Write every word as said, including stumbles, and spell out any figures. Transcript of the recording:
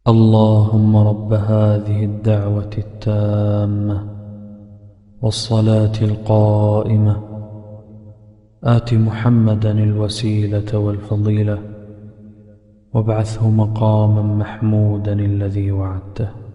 اللهم رب هذه الدعوة التامة والصلاة القائمة آت محمدا الوسيلة والفضيلة وابعثه مقاما محمودا الذي وعدته.